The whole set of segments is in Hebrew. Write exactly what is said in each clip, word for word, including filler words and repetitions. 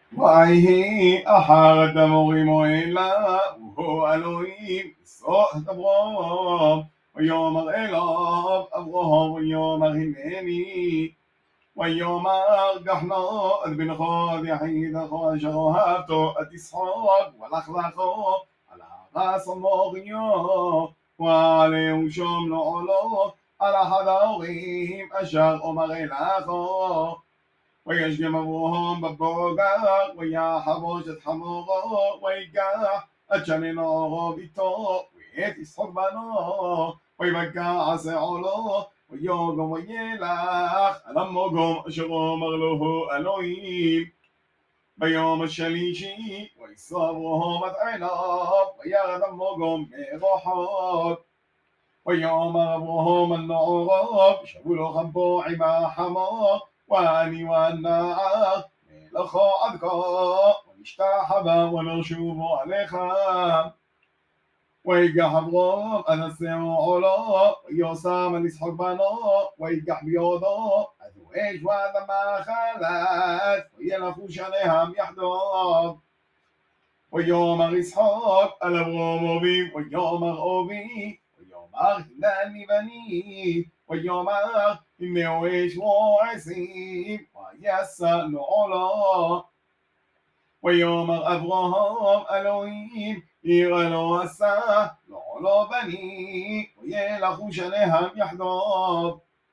ויהי אחר דמורים אלה והו אלוהים יסוד אברהם ויאמר אליו אברהם ויאמר הנני ויאמר גחנו את בנך את יחידך אשר אהבתו את ישחק ולך לכו על הארץ המוריו ועליהו שום לעולו על אחד ההורים אשר אומר אליכו וישגם אברהם בבוקר ויחבוש את חמורו ויגח את שנינו ביתו ואת ישחק בנו ויבקע שעולו ויוגם וילך על המקום אשר אמר לו אלוהים. ביום השלישי וישא אברהם את עיניו וירד המקום מרחוק ויאמר אברהם אל נעריו שבו לכם פה עם החמור ואני והנער נלכו עד כה ונשתחווה ונשובו עליכם. ויגח אברהם עד השאור עולו ויושם על ישחק בנו ויגח בידו עד האש והאדמה חלת וילכו שניהם יחדיו. ויאמר ישחק אל אברהם אבי ויאמר אבי ויאמר הנני בני ויאמר הנהו אש ועשים וישא לעולו. ויאמר אברהם אלוהים יראה לו עשה לעולו בני וילכו שניהם יחדיו.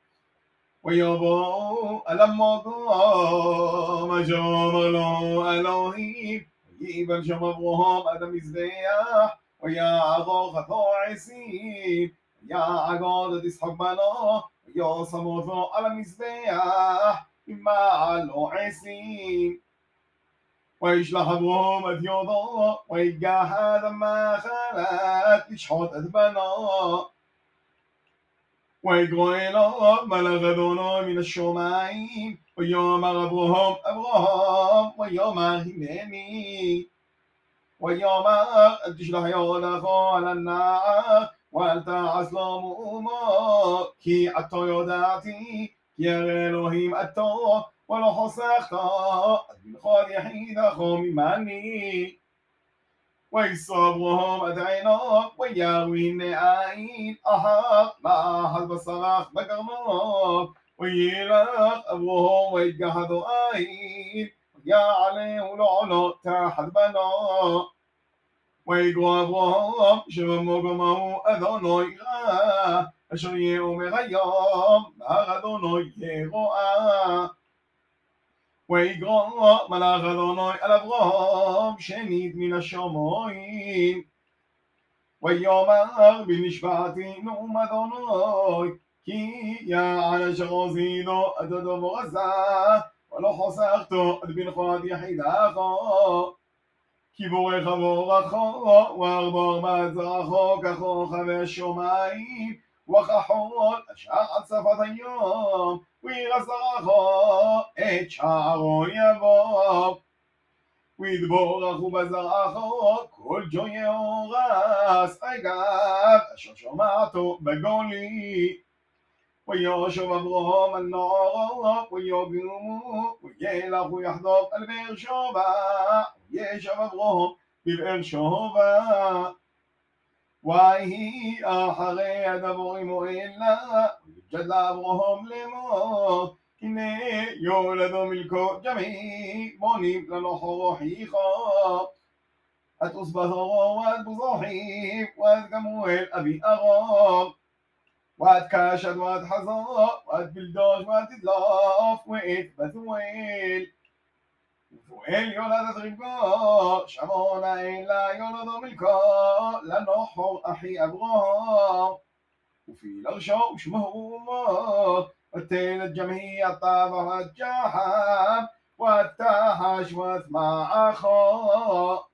ויבואו אל המקום אשר אמר לו אלוהים ויבן שם אברהם עד המזבח ויערוך את העשים ויעקוד את ישחק בנו וישם אותו על המזבח ממעל העשים. וישלח אברהם את ידו ויגח האדמה חלת לשחוט את בנו. ויקרא אליו מלאך אדוני מן השמיים ויאמר אברהם אברהם ויאמר הנני. ויאמר אל תשלח ידך על הנער ואל תעש לו מאומה כי עתה ידעתי כי הרי אלוהים אתה ולא חסכת את בנך יחידך ממני. וישא אברהם את עיניו וירא הנה עין אחת מאחז בשרך בקרנו וילך אברהם ויגח את העין ויעלהו לעולו תחת בנו. ויקרא אברהם שבמקום ההוא אדוני ראה אשר יאמר היום בהר אדוני ירועה. ויקרא מלאך אדוני אל אברהם שנית מן השמיים ויאמר בנשבעתי נאום אדוני כי יען אשר עשיתו את הדבר הזה ולא חסכתו את בנך את יחידך כי בורך בורכו וארבע ארבעת זרעו ככוכבי השמיים וכחול אשר על שפת היום וירא זרעו את שערו יבוא ויתבורכו בזרעו כל ג'וי אורס אגב אשר שמעתו בגולי. וישוב אברהם על נערו ויגומו וילכו יחדיו אל באר שבע וישב אברהם בבאר שבע. ויהי אחרי הדברים האלה ויג'ד לאברהם לאמור הנה יולדו מלכו ג'מי בונים לנוחו חיכו אטוס בזרו ואת בוזוחים ואת גמואל אבי ארום ואת קשת ואת חזור ואת בלדוש ואת תדלוף ואת בתואל. ובתואל יולדת רבקו שמעון האלה יולדו מלכו לנוחו אחי אברהם وفي الأرشاء وشمه الله وتيلت جمهية طابة والجحم والتحش واسمع أخاه